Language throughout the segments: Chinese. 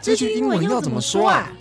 這句英文要怎麼說啊？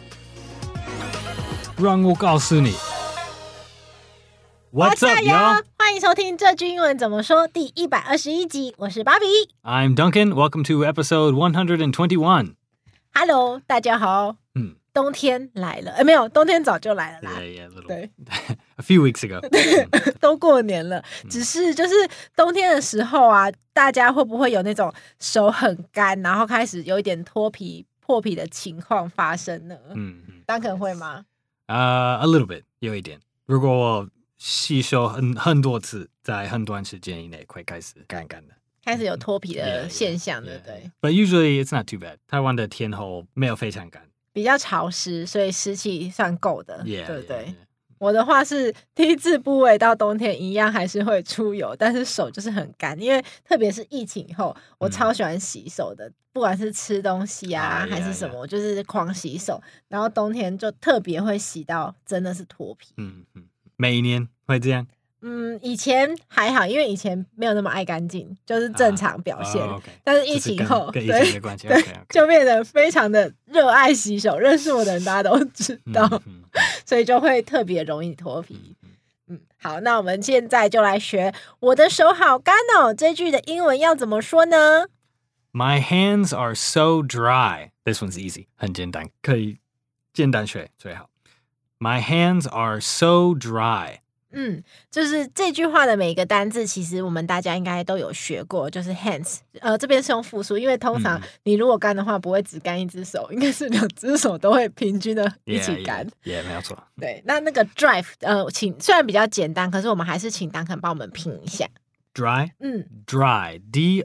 讓我告訴你。What's up, y'all? 歡迎收聽這句英文怎麼說第121集，我是芭比。 I'm Duncan. Welcome to episode 121. Hello, 大家好。冬天來了，沒有，冬天早就來了啦。 Yeah, little. 對 ，a few weeks ago. 都過年了，只是就是冬天的時候啊，大家會不會有那種手很乾，然後開始有一點脫皮、破皮的情況發生呢？Duncan會嗎 ？A little bit， 有一點。如果我洗手很多次，在很短時間以內會開始乾乾的。 開始有脫皮的現象，對不對 ？But usually it's not too bad. 台灣的天候沒有非常乾。 比較潮濕，所以濕氣算夠的， yeah, 對不對？ yeah. 我的話是 T 字部位到冬天一樣還是會出油，但是手就是很乾，因為特別是疫情後，我超喜歡洗手的，不管是吃東西啊還是什麼，我就是狂洗手，然後冬天就特別會洗到真的是脫皮。 每一年會這樣？ 以前還好，因為以前沒有那麼愛乾淨，就是正常表現。 okay. 但是疫情後， 跟疫情的關係， 對，就變得非常的熱愛洗手。認識我的人大家都知道，所以就會特別容易脫皮。好，那我們現在就來學我的手好乾哦。這句的英文要怎麼說呢？ My hands are so dry. This one's easy， 很簡單，可以簡單學最好。My hands are so dry. 就是這句話的每一個單字，其實我們大家應該都有學過，就是 hands， 這邊是用複數，因為通常你如果乾的話，不會只乾一隻手，應該是兩隻手都會平均的一起乾。 也沒有錯。 對，那個 dry，雖然比較簡單，可是我們還是請Duncan幫我們拼一下。 dry， dry，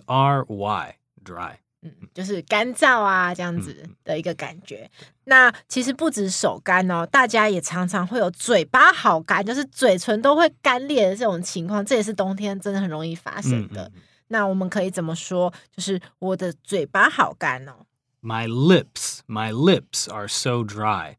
D-R-Y，dry。 就是乾燥啊，這樣子的一個感覺。那其實不止手乾哦，大家也常常會有嘴巴好乾，就是嘴唇都會乾裂的這種情況，這也是冬天真的很容易發生的。那我們可以怎麼說？就是我的嘴巴好乾哦。 My lips are so dry.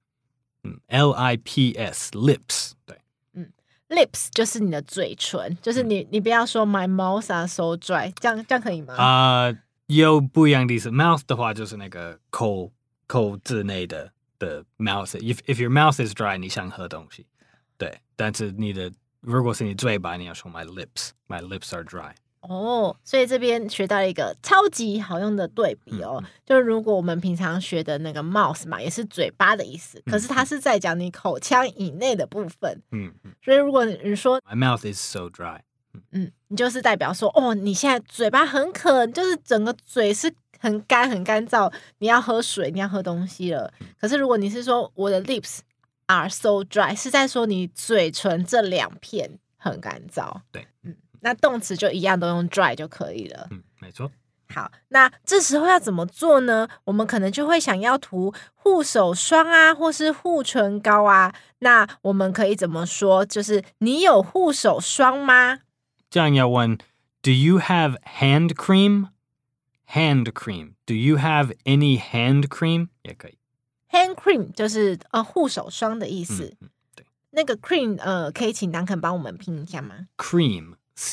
L-I-P-S, lips. 对 ，lips 就是你的嘴唇，就是你不要說 my mouth are so dry， 這樣可以嗎？ 有不一樣的意思。mouth 的話就是那個口之內的 mouth. If your mouth is dry， 你想喝東西，對。但是如果是你嘴巴，你要說 my lips are dry。 所以這邊學到一個超級好用的對比哦，就是如果我們平常學的那個 mouth 嘛，也是嘴巴的意思，可是它是在講你口腔以內的部分。所以如果你說 my mouth is so dry。 你就是代表說，你現在嘴巴很渴，就是整個嘴是很干很乾燥，你要喝水，你要喝東西了。可是如果你是說我的 lips are so dry， 是在說你嘴唇這兩片很乾燥。 對， 那動詞就一樣都用 dry 就可以了。 沒錯。 好，那這時候要怎麼做呢？我們可能就會想要塗護手霜啊，或是護唇膏啊。那我們可以怎麼說？就是你有護手霜嗎？ 這樣要問 Do you have hand cream? Hand cream. Do you have any hand cream? 也可以。 Hand cream 就是護手霜的意思。 對。 那個 cream 可以請Duncan幫我們拼一下嗎？ Cream.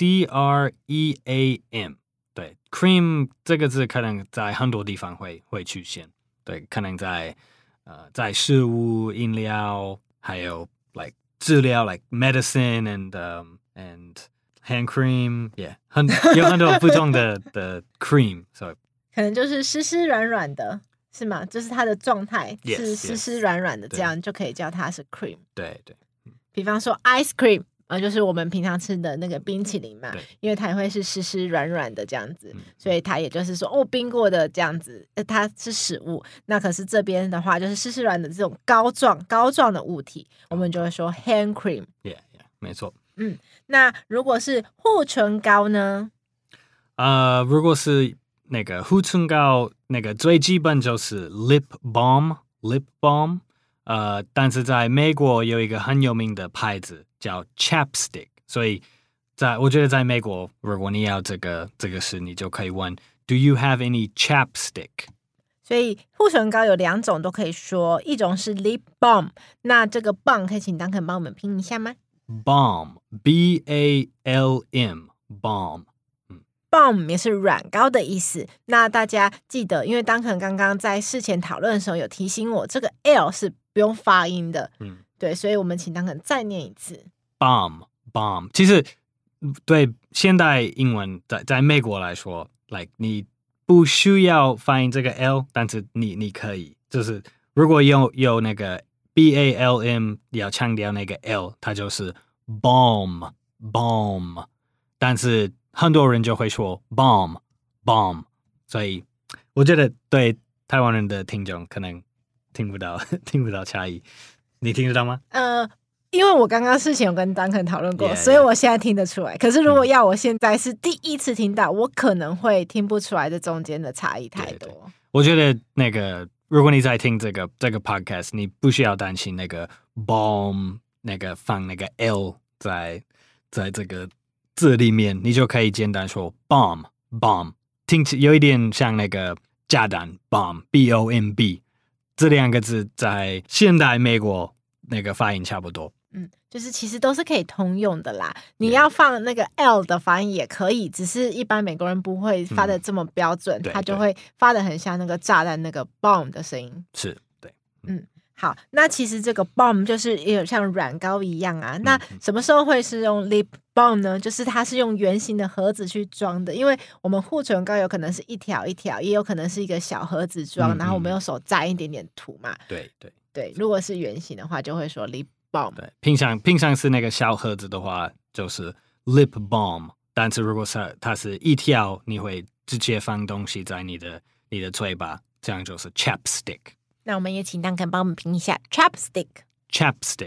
C-R-E-A-M. 對 ，cream 這個字可能在很多地方會出現。對，可能在食物、飲料，還有 like 治療 like medicine and hand cream, yeah， 有很多不同的cream， so 可能就是濕濕軟軟的，是嗎？就是它的狀態是濕濕軟軟的，這樣就可以叫它是 cream。 對。 比方說 ice cream，就是我們平常吃的那個冰淇淋嘛，因為它也會是濕濕軟軟的這樣子，所以它也就是說冰過的這樣子，它是食物。那可是這邊的話，就是濕濕軟的這種膏狀的物體，我們就會說 hand cream。Yeah， 沒錯。 那如果是護唇膏呢？ 如果是那個護唇膏，那個最基本就是 lip balm。但是在美國有一個很有名的牌子叫 Chapstick， 所以我覺得在美國，如果你要這個事，你就可以問 Do you have any chapstick？ 所以護唇膏有兩種都可以說，一種是 lip balm， 那這個 balm 可以請Duncan幫我們拼一下嗎？ Balm, B-A-L-M, balm。 balm 也是軟膏的意思。那大家記得，因為Duncan剛剛在事前討論的時候有提醒我，這個 L 是不用發音的。對，所以我們請Duncan再念一次。 Balm。其實對現代英文在美國來說 ，like 你不需要發音這個 L， 但是你可以，就是如果有那個 BALM 要強調那個 L， 它就是 balm。但是很多人就會說 bomb， 所以我覺得對台灣人的聽眾可能聽不到差異，你聽得到嗎？ 因為我剛剛事前有跟Duncan討論過，所以我現在聽得出來。可是如果要我現在是第一次聽到，我可能會聽不出來這中間的差異太多。對， 我覺得那個如果你在聽這個 podcast， 你不需要擔心那個 bomb 那個放那個 L 在這個字裡面，你就可以簡單說 bomb， 聽起有一點像那個炸彈 bomb， 這兩個字在現代美國那個發音差不多。 就是其實都是可以通用的啦。你要放那個 L 的發音也可以，只是一般美國人不會發的這麼標準，他就會發的很像那個炸彈那個 bomb 的聲音。 是，對。 好，那其實這個 balm 就是也有像軟膏一樣啊。那什麼時候會是用 lip balm 呢？就是它是用圓形的盒子去裝的，因為我們護唇膏有可能是一條一條，也有可能是一個小盒子裝，然後我們用手沾一點點塗嘛。對，如果是圓形的話，就會說 lip balm。 對，平常是那個小盒子的話，就是 lip balm。但是如果是它是一條，你會直接放東西在你的嘴巴，這樣就是 chapstick。 那我們也請Duncan幫我們拼一下 chapstick。chapstick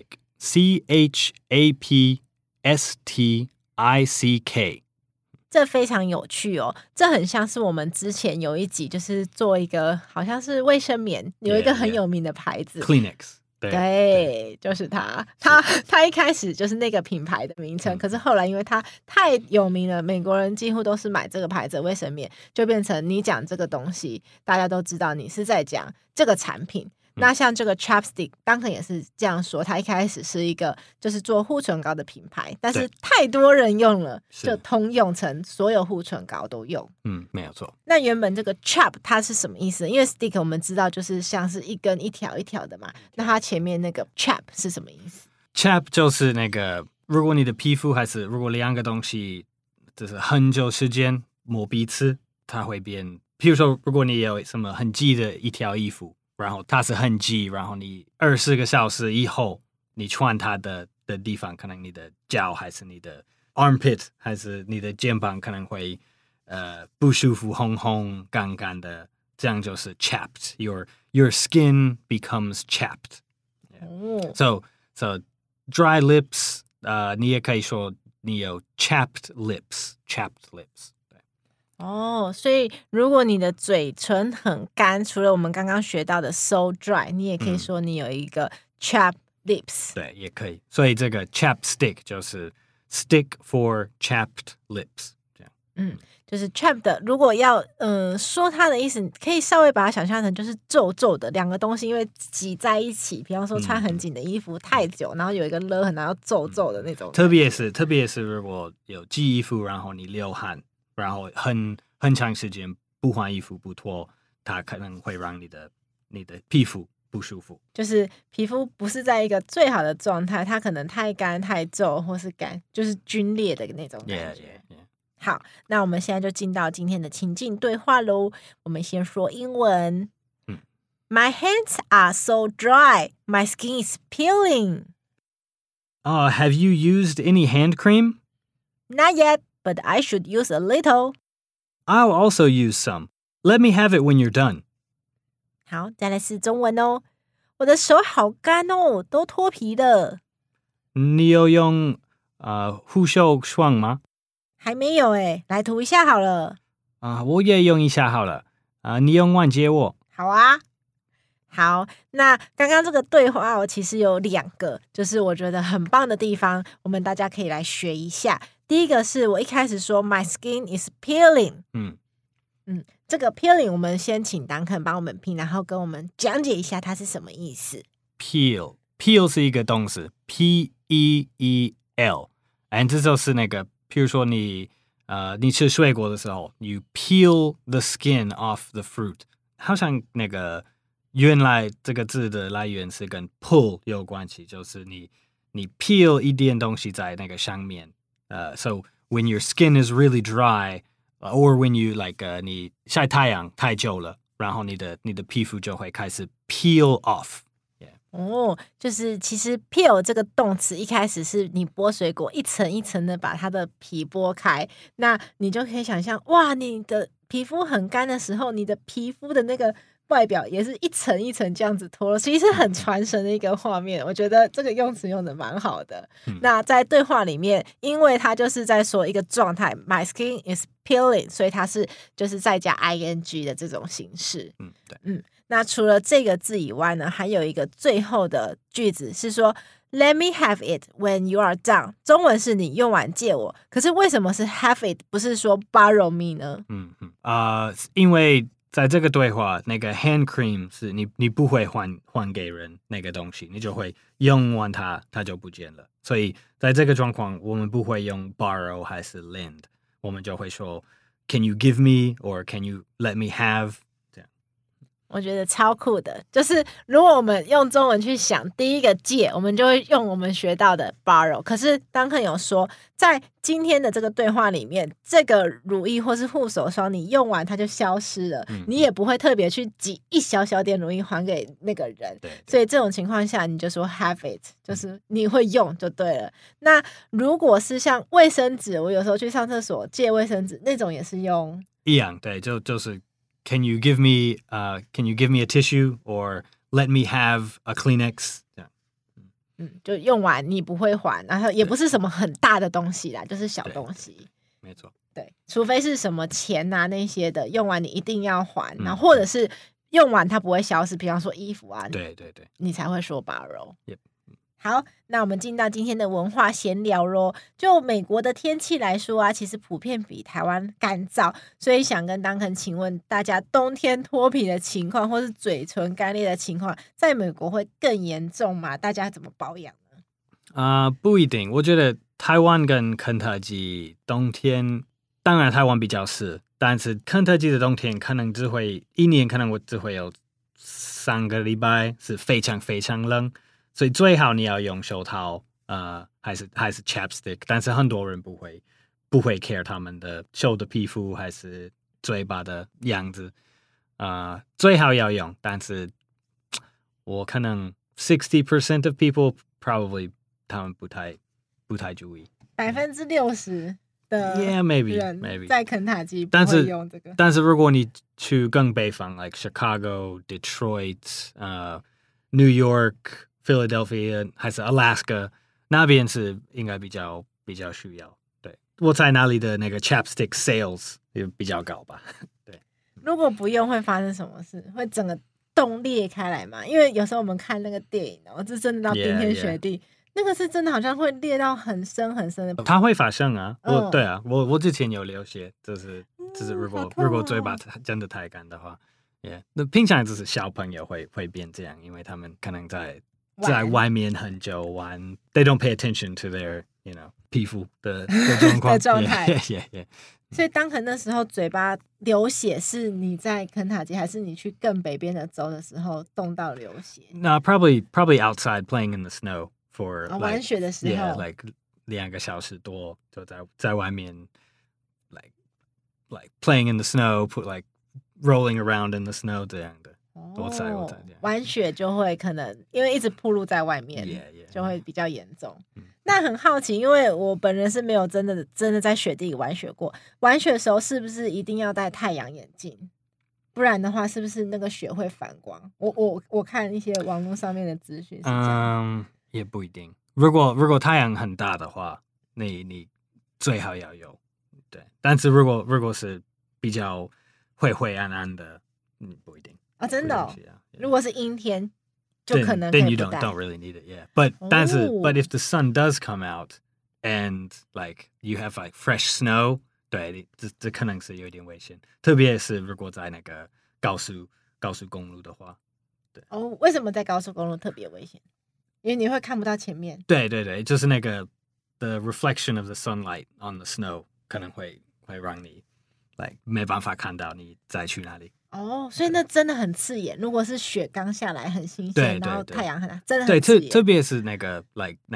chapstick。 這非常有趣哦，這很像是我們之前有一集就是做一個好像是衛生棉，有一個很有名的牌子 Kleenex。 對，就是它一開始就是那個品牌的名稱，可是後來因為它太有名了，美國人幾乎都是買這個牌子的衛生棉，就變成你講這個東西，大家都知道你是在講這個產品。那像這個 chapstick，Duncan 也是這樣說，它一開始是一個就是做護唇膏的品牌，但是太多人用了，就通用成所有護唇膏都用。 沒有錯。 那原本這個 chap 它是什麼意思？因為 stick 我們知道就是像是一根一條一條的嘛，那它前面那個 chap 是什麼意思？ chap 就是那個如果你的皮膚還是如果兩個東西就是很久時間磨彼此，它會變。譬如說，如果你有什麼很擠的一條衣服，然後它是很擠，然後你20個小時以後你穿它的地方，可能你的腳還是你的 armpit 還是你的肩膀可能會不舒服，紅紅乾乾的，這樣就是 chapped。Your skin becomes chapped。So dry lips， 你也可以說你有 chapped lips。 所以如果你的嘴唇很乾，除了我們剛剛學到的 so dry， 你也可以說你有一個 chapped lips。 對，也可以。所以這個 chapstick 就是 stick for chapped lips。這樣。 就是 chapped 的，如果要說它的意思，可以稍微把它想象成就是皺皺的兩個東西，因為擠在一起，比方說穿很緊的衣服太久，然後有一個勒痕，然後皺皺的那種。特別是如果有擠衣服，然後你流汗。然後很長時間不換衣服不脫，它可能會讓你的皮膚不舒服。 就是皮膚不是在一個最好的狀態，它可能太乾太皺，或是就是皸裂的那種感覺。好，那我們現在就進到今天的情境對話嘍。我們先說英文。My hands are so dry. My skin is peeling. Have you used any hand cream? Not yet.But I should use a little. I'll also use some. Let me have it when you're done. 好，再來是中文哦。我的手好乾哦，都脫皮了。 你有用護手霜嗎？ 還沒有誒，來塗一下好了。 我也用一下好了。你用完借我。 好啊。好，那剛剛這個對話其實有2個，就是我覺得很棒的地方，我們大家可以來學一下。第一個是我一開始說 My skin is peeling。這個 peeling 我們先請Duncan幫我們拼，然後跟我們講解一下它是什麼意思。 Peel 是一個動詞 P-E-E-L， 這就是那個，譬如說你你吃水果的時候 ，you peel the skin off the fruit， 好像那個原來這個字的來源是跟 pull 有關係，就是你 peel 一點東西在那個上面，so when your skin is really dry，or when you like 你曬太陽太久了，然後你的皮膚就會開始 peel off。 哦，就是其實 peel 這個動詞一開始是你剝水果一層一層的把它的皮剝開，那你就可以想象，哇，你的皮膚很乾的時候，你的皮膚的那個外表也是一層一層這樣子脫落，其實是很傳神的一個畫面。我覺得這個用詞用的蠻好的。那在對話裡面，因為它就是在說一個狀態 ，my skin is peeling， 所以它是就是再加 ing 的這種形式。對，那除了這個字以外呢，還有一個最後的句子是說 Let me have it when you are done。中文是你用完借我，可是為什麼是 have it 不是說 borrow me 呢？ 因為在這個對話，那個 hand cream 是你不會還給人那個東西，你就會用完它就不見了。所以在這個狀況，我們不會用 borrow 還是 lend， 我們就會說 Can you give me or can you let me have？ 我覺得超酷的，就是如果我們用中文去想第一個借，我們就會用我們學到的 borrow。可是Duncan有說，在今天的這個對話裡面，這個乳液或是護手霜你用完它就消失了，你也不會特別去擠一小小點乳液還給那個人。所以這種情況下，你就說 have it， 就是你會用就對了。那如果是像衛生紙，我有時候去上廁所借衛生紙，那種也是用一樣，對，就是Can you give me a tissue or let me have a Kleenex？ 就用完你不會還，然後也不是什麼很大的東西啦，就是小東西。 沒錯， 對，除非是什麼錢啊那些的，用完你一定要還，然後或者是用完它不會消失，比方說衣服啊， 對， 你才會說 borrow。 Yep。 好，那我們進到今天的文化閒聊咯。就美國的天氣來說啊，其實普遍比台灣乾燥，所以想跟Duncan請問大家，冬天脫皮的情況，或是嘴唇乾裂的情況，在美國會更嚴重嗎？大家怎麼保養呢？ 不一定。我覺得台灣跟肯塔基冬天，當然台灣比較濕，但是肯塔基的冬天可能一年可能我只會有3個禮拜是非常非常冷。所以最好你要用手套，還是 chapstick， 但是很多人不會 care 他們的手的皮膚還是嘴巴的樣子，最好要用，但是我可能 60% of people probably 他們不太注意 ，60%的人 maybe 在肯塔基不會用這個， 但是如果你去更北方 like Chicago、Detroit、New York。Philadelphia 還是 Alaska 那邊是應該比較需要。對，我在那裡的那個 chapstick sales 也比較高吧。對， 如果不用會發生什麼事？會整個洞裂開來嗎？因為有時候我們看那個電影，這真的到冰天雪地，那個是真的好像會裂到很深很深的。 它會發生啊，對啊，我之前有流血，就是如果嘴巴真的太乾的話，那平常就是小朋友會變這樣，因為他們可能在外面很久玩 ，they don't pay attention to their皮膚的狀況狀態。 Yeah. 所以當可那時候嘴巴流血，是你在肯塔基，還是你去更北邊的州的時候凍到流血 ？No, probably outside playing in the snow for 玩雪的時候 ，like 2個小時多就在外面 like playing in the snow, like rolling around in the snow 這樣的。我猜玩雪就會可能因為一直暴露在外面，就會比較嚴重。那很好奇，因為我本人是沒有真的在雪地裡玩雪過。玩雪的時候是不是一定要戴太陽眼鏡？不然的話，是不是那個雪會反光？我看一些網絡上面的資訊是這樣。 也不一定。如果太陽很大的話，你最好要有。對，但是如果是比較灰暗暗的，不一定。 真的如果是陰天，就可能可以不戴。 Then you don't really need it, yeah. But 但是 but if the sun does come out and like you have like fresh snow， 對，這可能是有點危險，特別是如果在那個高速公路的話，對。 為什麼在高速公路特別危險？因為你會看不到前面。 對，就是那個 the reflection of the sunlight on the snow 可能會會讓你沒辦法看到你再去哪裡。 哦，所以那真的很刺眼。如果是雪剛下來很新鮮，然後太陽很大，真的很刺眼。 特別是那個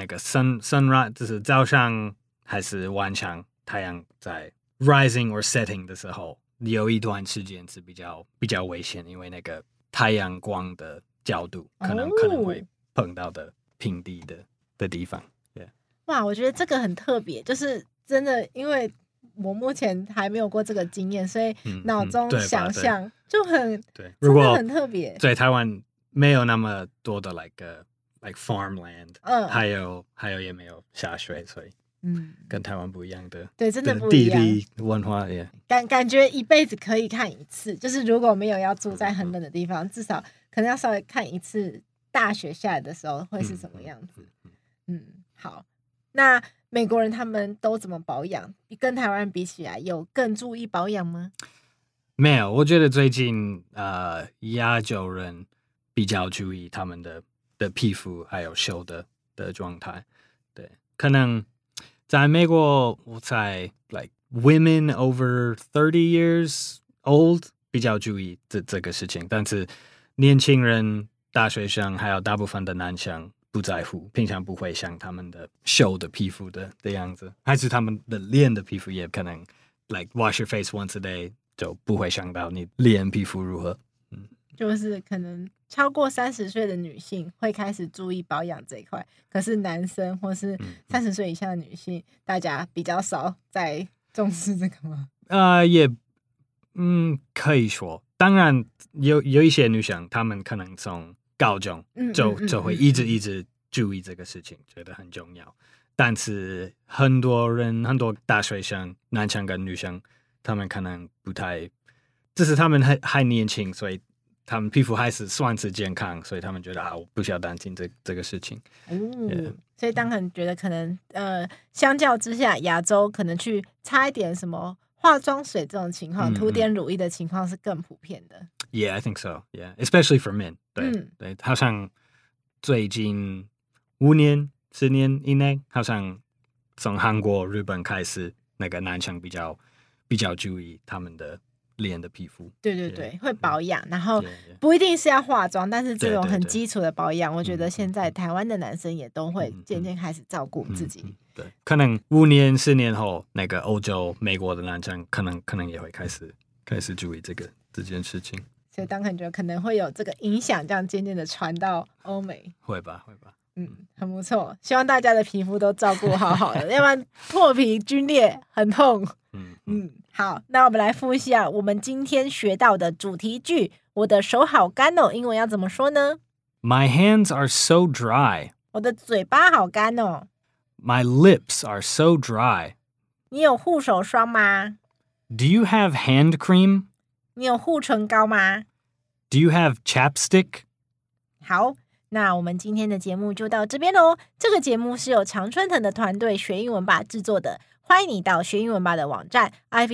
sunrise， 就是早上還是晚上，太陽在 rising or setting 的時候，有一段時間是比較危險，因為那個太陽光的角度可能會碰到的平地的地方。 哇，我覺得這個很特別，就是真的，因為我目前還沒有過這個經驗，所以腦中想象就很對， 真的很特別。 在台灣沒有那麼多的 like farmland， 還有也沒有下雪，所以跟台灣不一樣的， 對，真的不一樣。 地理文化也感覺一輩子可以看一次，就是如果沒有要住在很冷的地方，至少可能要稍微看一次大雪下來的時候會是什麼樣子。好，那美國人他們都怎麼保養？跟台灣人比起來，有更注意保養嗎？ 沒有，我覺得最近亞洲人比較注意他們的皮膚還有手的狀態。對，可能在美國，我猜 like women over 30 years old 比較注意這個事情，但是年輕人、大學生還有大部分的男生不在乎，平常不會像他們的手的皮膚的樣子，還是他們的臉的皮膚也可能 like wash your face once a day 就不會想到你臉皮膚如何。 就是可能超過30歲的女性會開始注意保養這一塊，可是男生或是30歲以下的女性，大家比較少在重視這個嗎？ 也可以說，當然有一些女生，她們可能從高中就會一直注意這個事情，覺得很重要。但是很多大學生，男生跟女生，他們可能不太，就是他們還年輕，所以他們皮膚還是算是健康，所以他們覺得我不需要擔心這個事情。 所以當然覺得可能相較之下，亞洲可能去擦一點什麼化妝水這種情況，塗點乳液的情況是更普遍的。 Yeah, I think so. Yeah, especially for men. 對，好像最近5年、10年以內，好像從韓國、日本開始，那個男生比較注意他們的臉的皮膚。 對，會保養，然後不一定是要化妝，但是這種很基礎的保養，我覺得現在台灣的男生也都會漸漸開始照顧自己。 對，可能5年、10年後，那個歐洲、美國的男生可能也會開始注意這件事情。 所以當感覺可能會有這個影響，這樣漸漸的傳到歐美。 會吧。 很不錯。希望大家的皮膚都照顧好的，要不然破皮、皸裂很痛。好，那我們來複習一下我們今天學到的主題句。我的手好乾哦，英文要怎麼說呢？ My hands are so dry. 我的嘴巴好乾哦。 My lips are so dry. 你有護手霜嗎？ Do you have hand cream? 你有護唇膏嗎？ Do you have chapstick? 好，那我們今天的節目就到這邊咯。這個節目是由常春藤的團隊學英文吧製作的。歡迎你到學英文吧的網站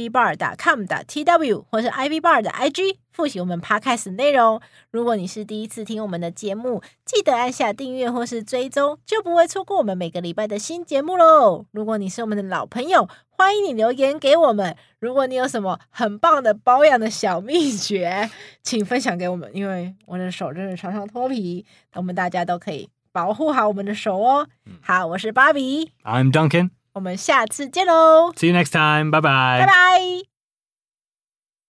ivbar.com.tw 或是 ivbar 的 IG 複習我們 podcast 的內容。如果你是第一次聽我們的節目，記得按下訂閱或是追蹤，就不會錯過我們每個禮拜的新節目嘍。如果你是我們的老朋友，歡迎你留言給我們。如果你有什麼很棒的保養的小祕訣，請分享給我們，因為我的手真的常常脫皮，我們大家都可以保護好我們的手哦。好，我是芭比 I'm Duncan. 我們下次見嘍 See you next time. Bye bye. 拜拜。